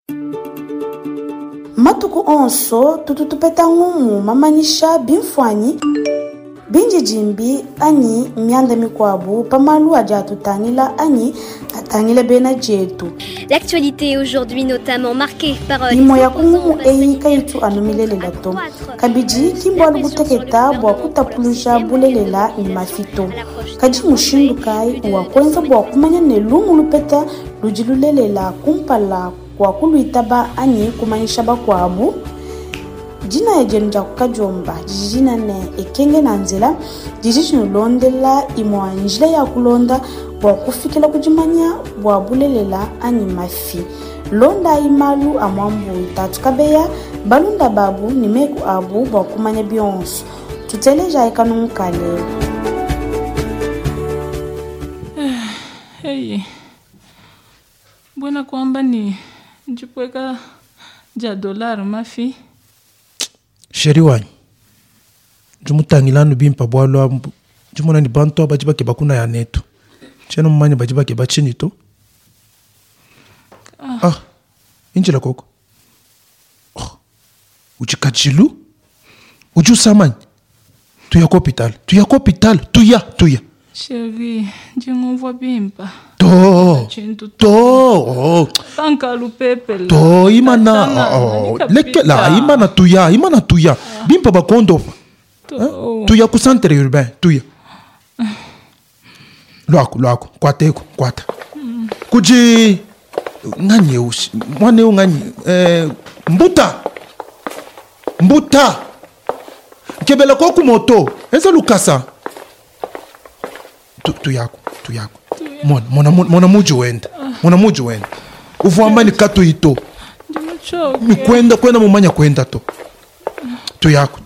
Matuku onso tututupeta ngumu mamanyisha bimfwanyi binji jimbi anyi mianda mikwabu pamalu aja tutangila anyi atangile bena jetu. L'actualité aujourd'hui notamment marquée par imo ya kungumu eyi kaitu anumilelela to kabiji kimbo aluguteketa bwa kutapuluja bulelela ni mafito kaji mushindu kai wa kwenza bwa kumanya ne lumu lupeta lujilulelela kumpala kwa kuluitaba anyi kumanyisha bakwabu jina ya jenja kukajomba jijina ne ekenge na nzela jijishinu londela imo anjila ya kulonda bwa kufikila kujimanya bwa bulelela anyi mafi londa imalu amwambu itatu kabeya balunda babu ni meku abu bwa kumanya bionso tuteleja ekanu mkale. Hey, buena kwamba ni njipweka ja dollar mafi sheri wanyi njumutangilanu bimpa bwalwa njumona ni bantu abajiba ke bakuna ya neto cheno mmanya bajiba ke bachini to injila koko uchikachilu uju samany tuya hospital tuya sheri njingumva bimpa Tankalu pepe to imana leke la imana tuya bimpa bakondo tuya kusantere urbain tuya lwako kwata kuji nganye ushi mwane nganye mbuta kebela ko ku moto eza lukasa tuyako mona muju wenda uvuamba ni kato ito mi kwenda mumanya kwenda to tuyako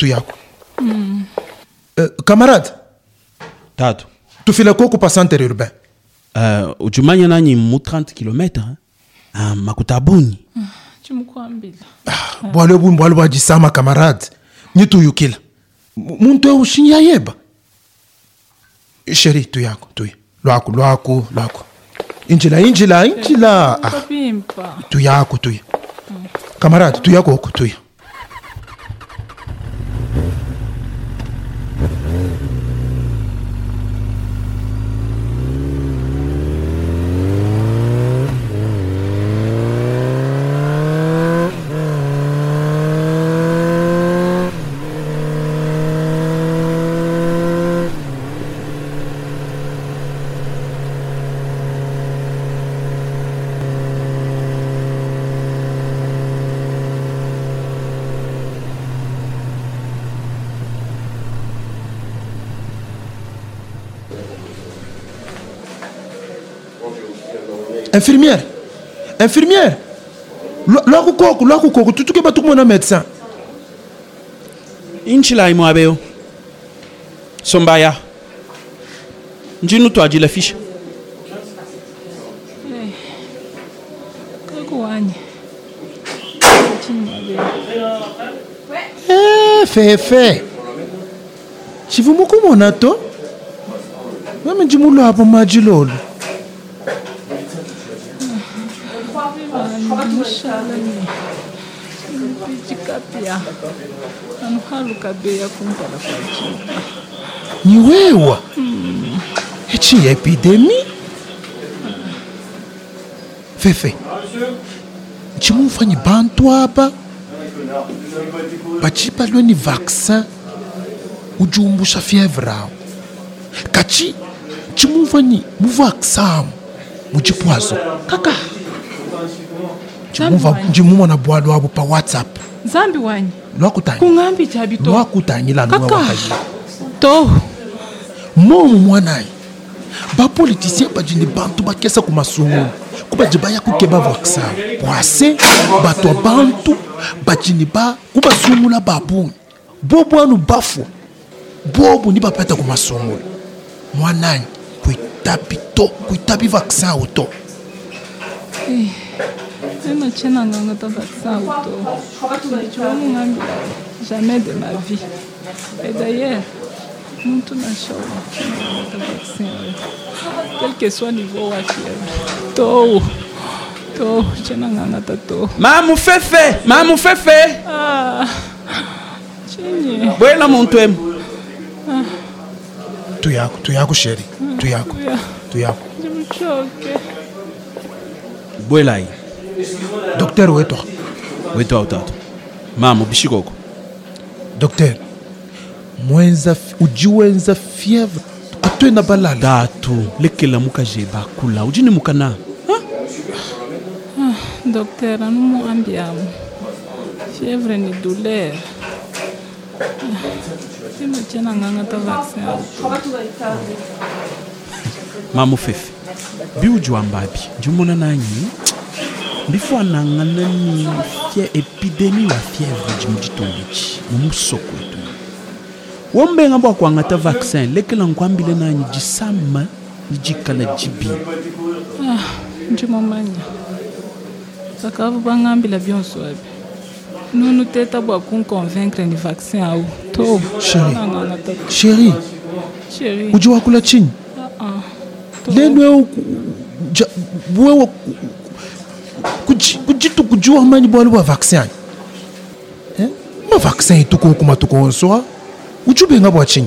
camarade Tatu tufile ko ku passante urbain ujumanya nanyi mu 30 km makutabuni chumukwambila bwalo bajisama camarade nyituyukila muntu eushinya yeba sheri tuyako lwako injila tuyako camarade tuyako tuya infirmière lwako koko tutuke batukumona médecin inchila imo abeo sombaya njinu twajila fisha kakuwanye fefe chivumukumona to meme njimulo hapo majilolo ni wewa echi epidemi fefe chimufanye bantu apa bachipalwe ni vaccin ujumbusha fievre ao kachi chimufanye muvaccin muchipwazo kaka njimumwa na bwalo wabo pa WhatsApp zambi wanyi kungambi chabito lwakutanyila to momu mwanayi bapolitisien bajini bantu bakesa kumasungulu kubajibaya kukeba vaccin bwase bato abantu bajini kubasungula babuni bobo anu bafwa bobo ni bapeta kumasungulu mwanayi kuitabi vaccin auto Ema chena nganga ta vaccin auto. Je ne jamais de ma vie. Et d'ailleurs, nous tout n'a vaccin. Quel que soit le niveau à fièvre. To, chena nganga tato. Mamu fefe. Ah. Chini. Bwela muntu emu. Tuyako sheri. Tuyako. Jimuchoke. Bwela hii. Docteur wetu. Wetu utatu. Mamu bishikoko. Docteur. Ujiwenza fièvre. Atwena balala. Tatu. Lekela muka jeba kula. Ujini muka na. Docteur, nous ambiamo. Fièvre ni douleur. Sima tena nganga ta vaccin. Mamu fefe. Bi ujua mbabi. Jumona nanyi. Bifo anangana ni epidemie wa fièvre jimujitongichi. Mumusoko etu. Wombe ngamba kwa ngata vaccin. Lekela nkwambile nanyi jisama. Jikala jibi. Njimomanya. Sakavu bangambila byonso abi. Nous teta bwa kun convaincre ni vaccin au. To. Chérie. Ujua kula chini. Leno wewe kujitu kujua manyi bwa vaccin. Ma vaccin tuko kuma tuko so. Ujube ngabwa chini.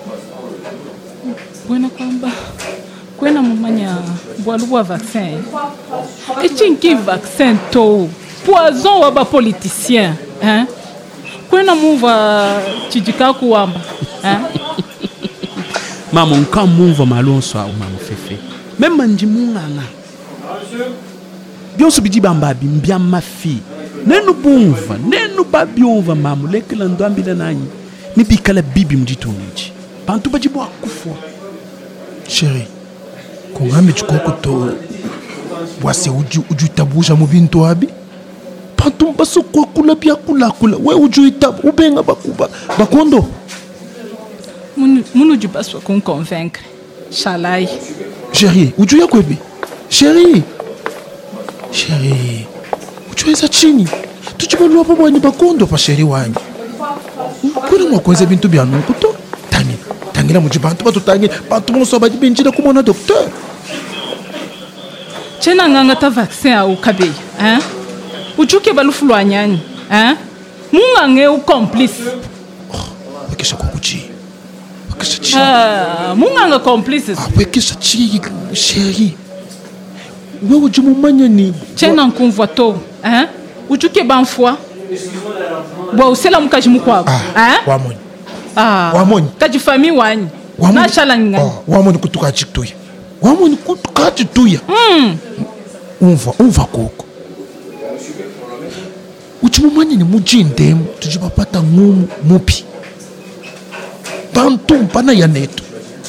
Bwana kwamba kwena mumanya bwa vaccin. Echinki vaccin to. Poison wa ba politicien, hein? Kwena muva chijika kuamba, hein? Mama nka muva malonso au mama fefe. Même nji munganga. Bionso bidi bamba bimbia mafi. Nenu bunva, nenu babionva mamu lekela ndwambila nanyi. Ni bikala bibi mjitonji. Bantu bajibo akufwa. Chérie, kongame chukoko to wase ujutabusha mubintu abi? Pantum baso kwa kula bia kula. We ujuitab ubenga bakondo. Munu jubaswa kon convaincre. Shalai. Chérie, ujuya kwebi? Chérie. Ujueza chini. Tujibalua pabwa ni bakondo pa chérie wanyi. Kuna mwakweze bintu bia nukuto? Tangila mujibantu batu tangi. Bantu mwoso bajibinjida kumona docteur. Chena nganga ta vaccin au kabei, hein? Uchuke balufulu anyani, hein? Mungange u complice. Wekisha kukuchi. Munganga complice. Wekisha chi, chérie. Wewe ujumumanya ni. Chena nkumvwa to, hein? Uchuke banfwa. Bwa usela mukaji mukwabo, hein? Wamoni. Wamoni. Kaji fami wanyi. Na shala ngani. Wamoni kutuka chiktuya. Wamoni kutuka chiktuya. Umva koko. Uchimumanya ni mujindemu tujibapata ngumu mupi. Bantu mpana ya neto.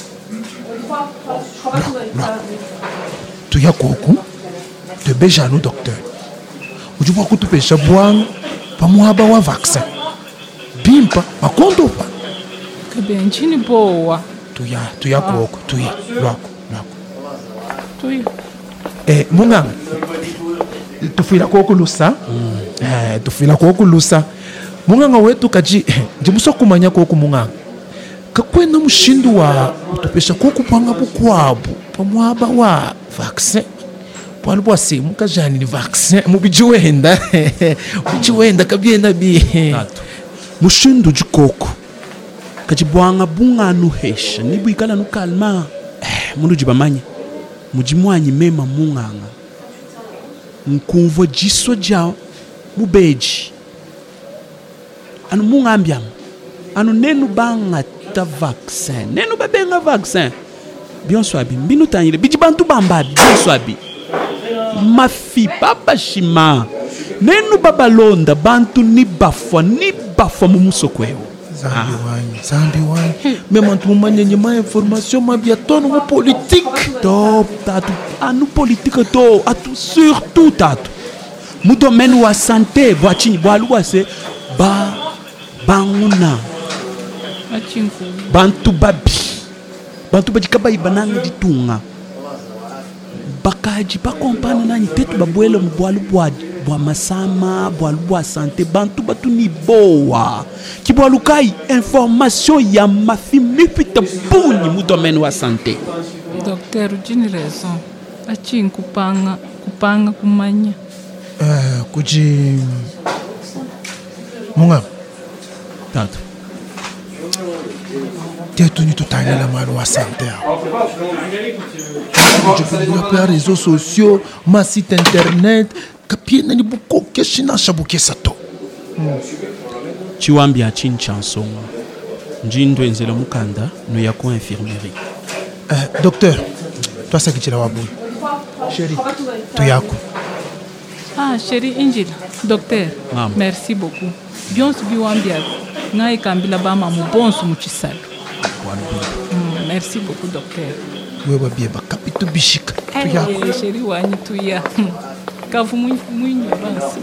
Tuya koko. Tebeja no docteur. Ujibu kutupesha bwang pamuhaba wa vaccin. Bimpa makondo pa. Kabenchini bowa. Tuya koko. Lwako. Munganga. Tufila koko lusa. Tufila koko lusa. Munganga wetu kaji jimuso kumanya koko munganga. Kakwena mushindu wa utupesha koko panga bukwabu pamuhaba wa vaccin. Pwali bwa simu kajani ni vaccin mubijiwenda. Mubijiwenda kabienda bi. Mushindu jikoko. Kajibwanga bunga nuhesha nibu ikala nukalma. Mundu jibamanya. Mujimwanyi mema munganga. Nkumvo jiswa jao mubeji. Anu mungambiam. Anu nenu banga ta vaccin. Nenu babenga vaccin. Bionswabi. Mbinu tanyile. Bijibantu bamba. Bionswabi. Mafi baba shima. Nenu babalonda. Bantu ni bafwa mumusokweho. Zambi wanyi. Même tu mumanya nyema information mabia tono mu politique. Top tatu. Anu politique to. Atu surtout tatu. Mu domaine wa santé. Boachini. Boalua se. Banguna. Bantu babi kaba ibananga ditunga. Bakaji bakompana nani tetu babuele mboalu bwa masama, boalu bwa santé. Bantu batu ni boa. Kiboalu kai information ya mafi mipita buni mu domaine wa santé. Docteur, ujini raison. Achi nkupanga kupanga kumanya kuji munga Tato. tetu ni tutalela mali wa santé je peux développer réseaux sociaux ma site internet kapiena ni buko keshina shabuke sato Chiwambi a chinchanson. Njindo enzela mukanda no yako infirmerie. docteur toi ça qui tu la wabu chérie to yako chérie Angela docteur Mama. merci beaucoup byonso biwambia ngai kambila bama mubonso muchisalo merci beaucoup docteur wewe bieba kapito bishika to yako chérie wanyi tuya kavu mwinyo basi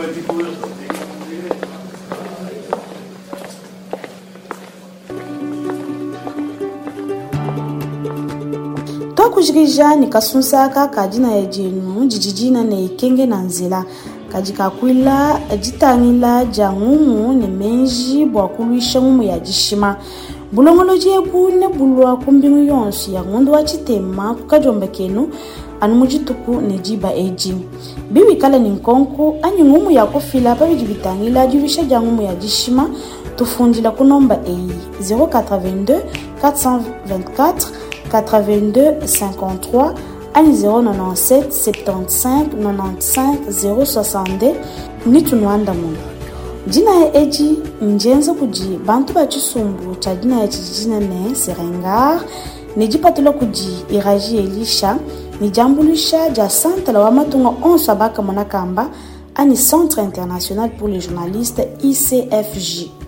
kujirija ni kasunsaka kajina ya jenu jijijina na ikenge na nzela kajikakwila jitangila jangumu ni menji bwakuluisha ngumu ya jishima bulongolo jebu ne bulwa kumbingu yonsu ya ngundu wa chitema kukajomba kenu anu mujituku ne jiba eji biwi kala ni nkonku anyi ngumu ya kufila pa bijibitangila juvisha jangumu ya jishima tufundila kunomba eyi 082 424 82 53 ani 097 75 95 062 nitunwanda muno jina ya eji njenza kuji bantu ba chisumbu cha jina ya chijina ne serengar nijipatula kuji iraji elisha nijambulisha ja santa la wamatunga onso abaka monakamba ani Centre International pour les Journalistes ICFJ.